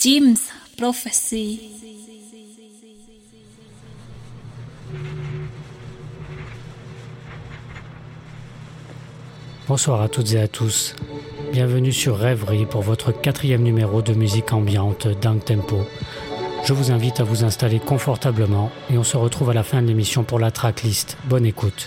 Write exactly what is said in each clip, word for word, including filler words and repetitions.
Jim's Prophecy. Bonsoir à toutes et à tous. Bienvenue sur Rêverie pour votre quatrième numéro de musique ambiante down tempo. Je vous invite à vous installer confortablement et on se retrouve à la fin de l'émission pour la tracklist. Bonne écoute.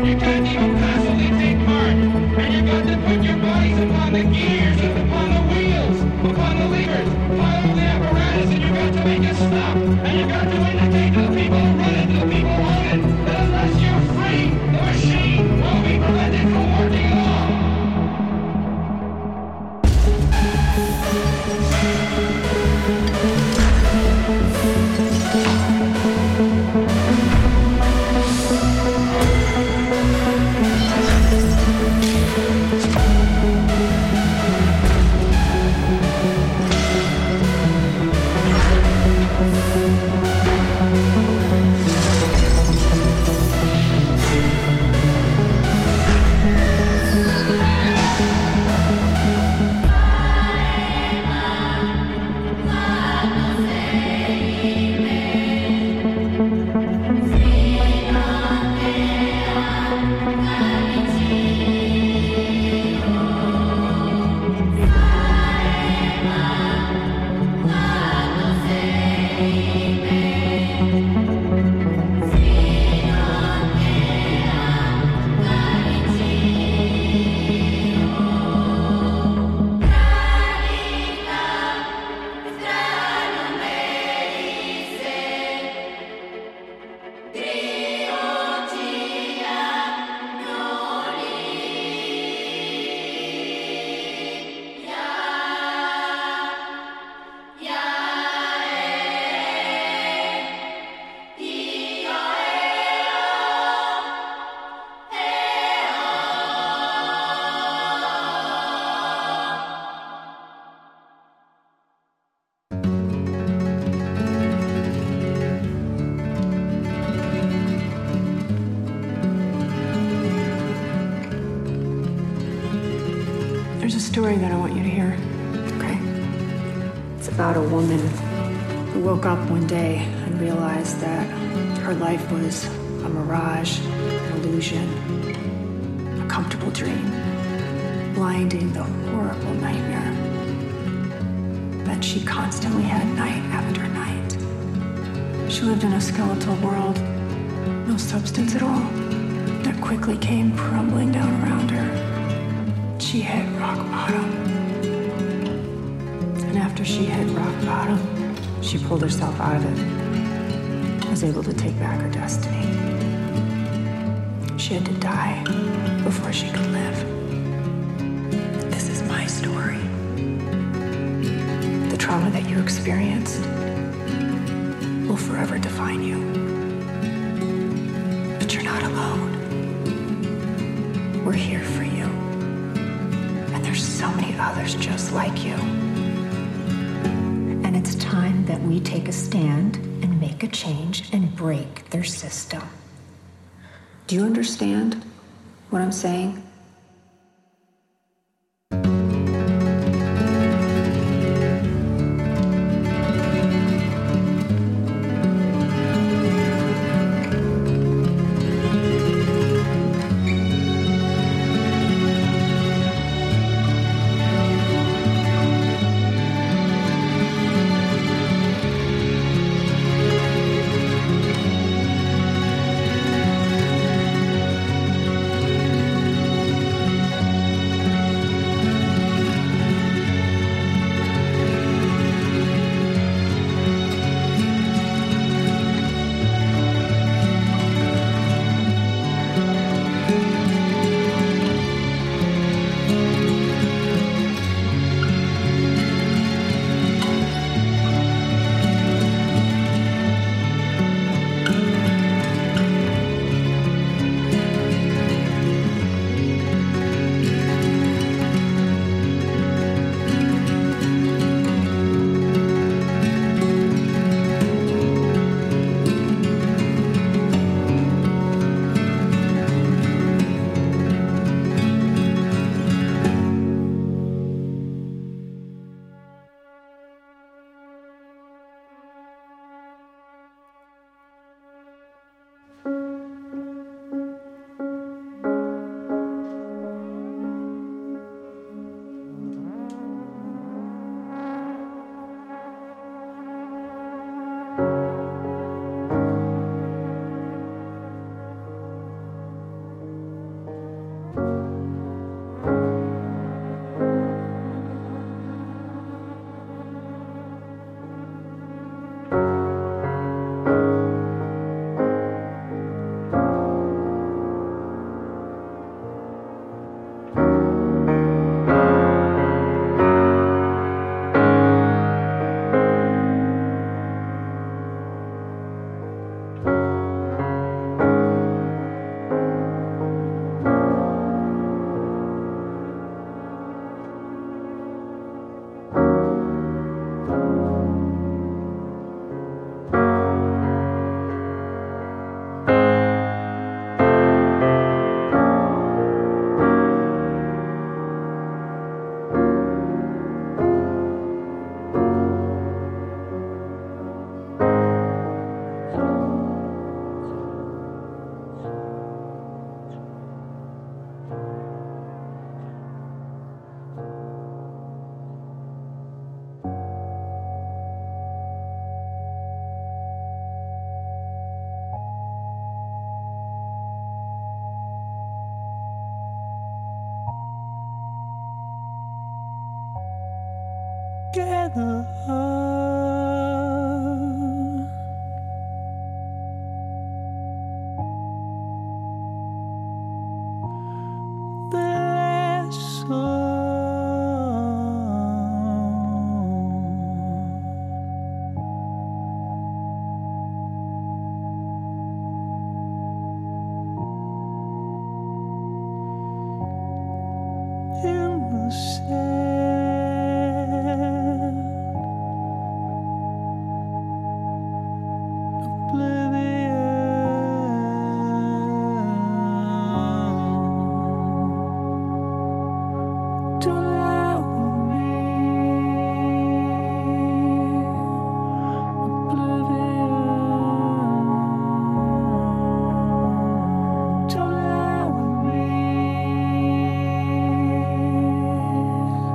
There's a story that I want you to hear, okay? It's about a woman who woke up one day and realized that her life was a mirage, an illusion, a comfortable dream, blinding the horrible nightmare that she constantly had night after night. She lived in a skeletal world, no substance at all, that quickly came crumbling down around her. She hit rock bottom. And after she hit rock bottom, she pulled herself out of it, was able to take back her destiny. She had to die before she could live. This is my story. The trauma that you experienced will forever define you. But you're not alone. We're here for you. So many others just like you. And it's time that we take a stand and make a change and break their system. Do you understand what I'm saying? together. The last song. In the sand, oblivion. Don't lie with me, oblivion. Don't lie with me.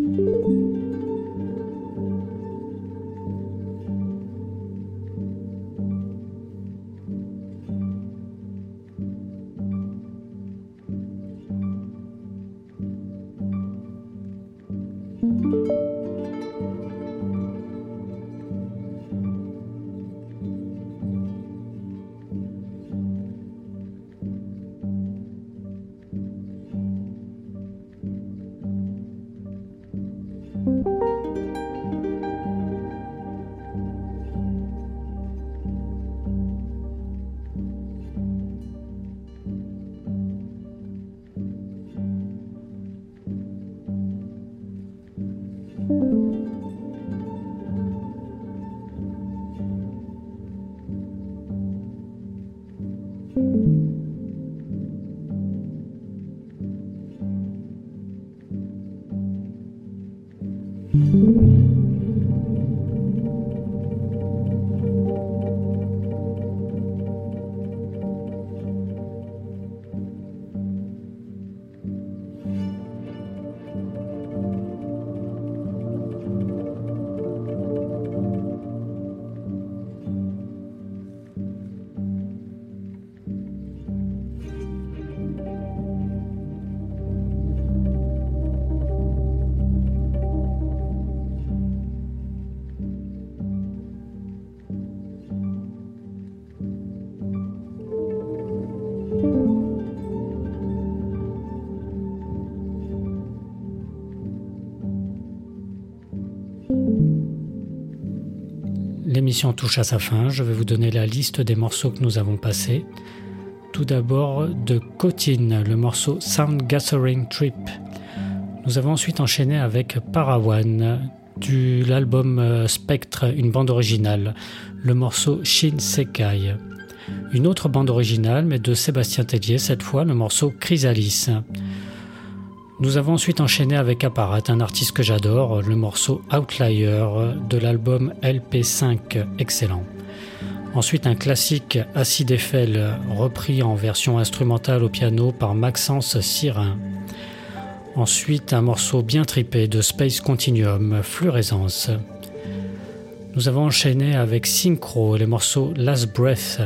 L'émission touche à sa fin, je vais vous donner la liste des morceaux que nous avons passés. Tout d'abord de Cotine, le morceau Sound Gathering Trip. Nous avons ensuite enchaîné avec Parawan, de l'album Spectre, une bande originale, le morceau Shin Sekai. Une autre bande originale, mais de Sébastien Tellier, cette fois le morceau Chrysalis. Nous avons ensuite enchaîné avec Apparat, un artiste que j'adore, le morceau Outlier de l'album L P cinq, excellent. Ensuite un classique Acid Eiffel, repris en version instrumentale au piano par Maxence Sirin. Ensuite un morceau bien tripé de Space Continuum, Fluorescence. Nous avons enchaîné avec Synchro, les morceaux Last Breath.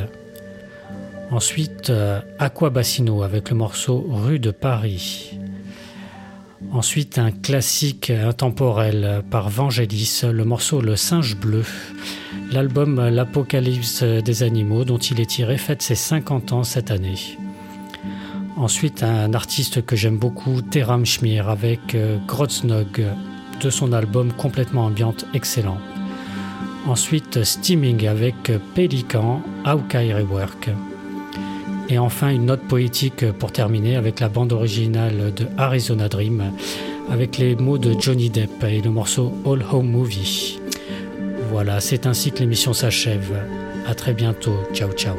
Ensuite Aqua Bassino avec le morceau Rue de Paris. Ensuite, un classique intemporel par Vangelis, le morceau Le Singe Bleu, l'album L'Apocalypse des animaux dont il est tiré fête ses cinquante ans cette année. Ensuite, un artiste que j'aime beaucoup, Teram Schmier, avec Grotznog, de son album complètement ambiante excellent. Ensuite, Steaming avec Pélican, Hawkeye Rework. Et enfin, une note poétique pour terminer avec la bande originale de Arizona Dream, avec les mots de Johnny Depp et le morceau All Home Movie. Voilà, c'est ainsi que l'émission s'achève. À très bientôt. Ciao, ciao.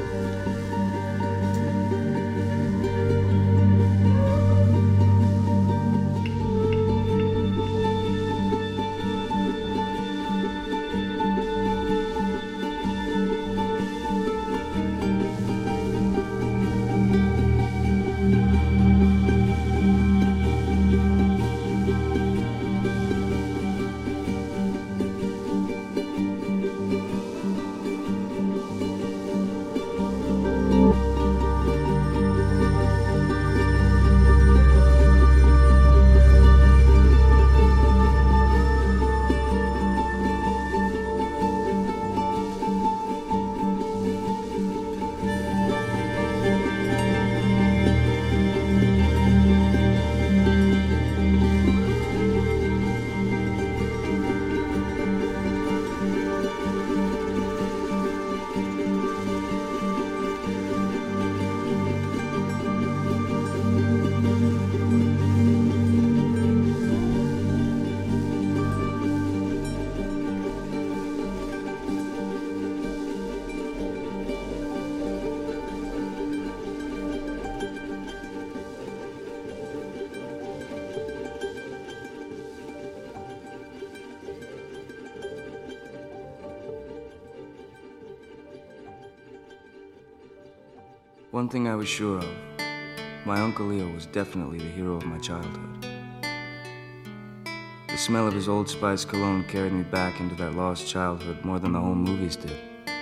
One thing I was sure of, my Uncle Leo was definitely the hero of my childhood. The smell of his Old Spice cologne carried me back into that lost childhood more than the home movies did.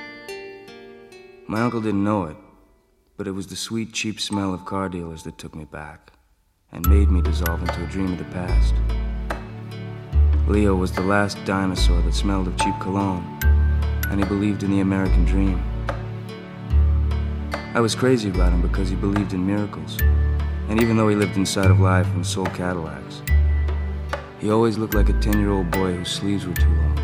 My uncle didn't know it, but it was the sweet, cheap smell of car dealers that took me back and made me dissolve into a dream of the past. Leo was the last dinosaur that smelled of cheap cologne, and he believed in the American dream. I was crazy about him because he believed in miracles, and even though he lived inside of life and sold Cadillacs, he always looked like a ten-year-old boy whose sleeves were too long.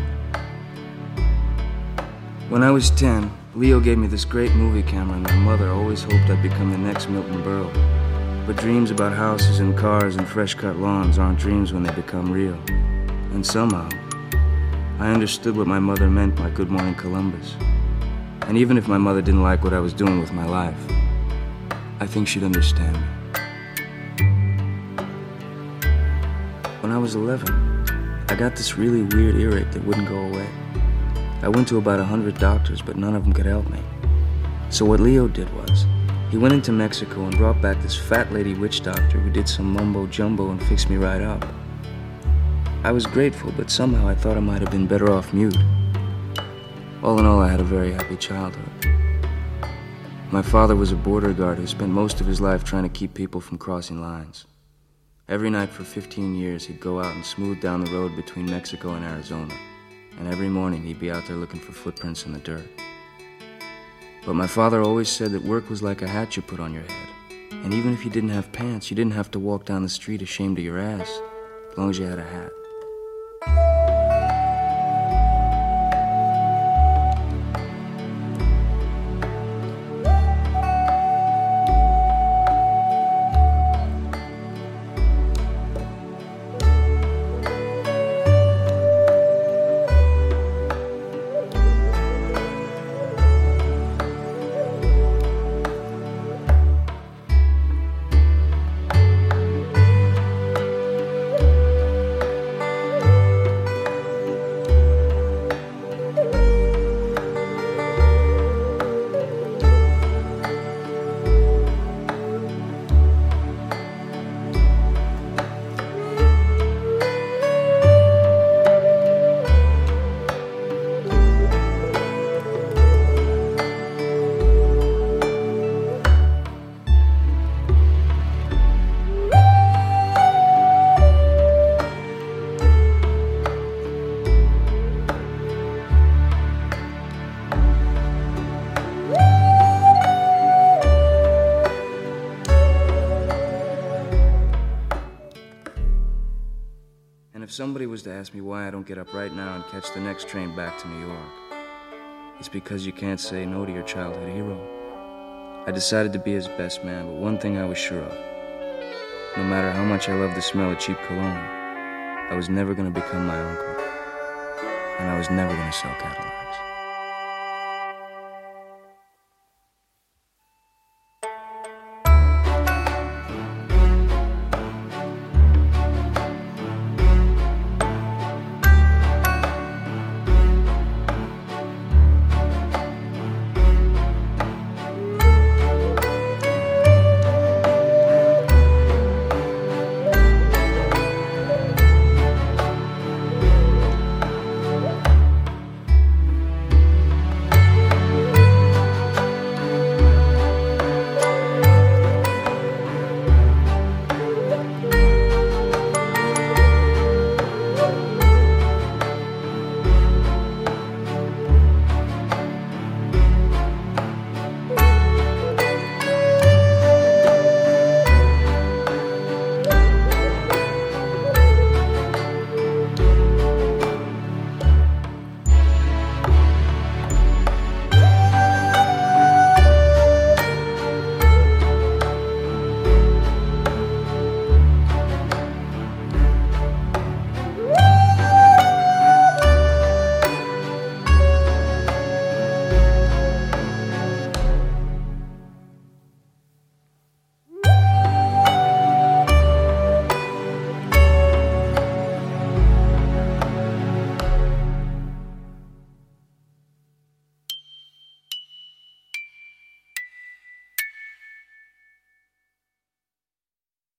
When I was ten, Leo gave me this great movie camera, and my mother always hoped I'd become the next Milton Berle. But dreams about houses and cars and fresh-cut lawns aren't dreams when they become real. And somehow, I understood what my mother meant by Good Morning Columbus. And even if my mother didn't like what I was doing with my life, I think she'd understand me. When I was eleven, I got this really weird earache that wouldn't go away. I went to about a hundred doctors, but none of them could help me. So what Leo did was, he went into Mexico and brought back this fat lady witch doctor who did some mumbo-jumbo and fixed me right up. I was grateful, but somehow I thought I might have been better off mute. All in all, I had a very happy childhood. My father was a border guard who spent most of his life trying to keep people from crossing lines. Every night for fifteen years, he'd go out and smooth down the road between Mexico and Arizona. And every morning, he'd be out there looking for footprints in the dirt. But my father always said that work was like a hat you put on your head. And even if you didn't have pants, you didn't have to walk down the street ashamed of your ass, as long as you had a hat. If somebody was to ask me why I don't get up right now and catch the next train back to New York, it's because you can't say no to your childhood hero. I decided to be his best man, but one thing I was sure of. No matter how much I loved the smell of cheap cologne, I was never going to become my uncle, and I was never going to sell Cadillacs.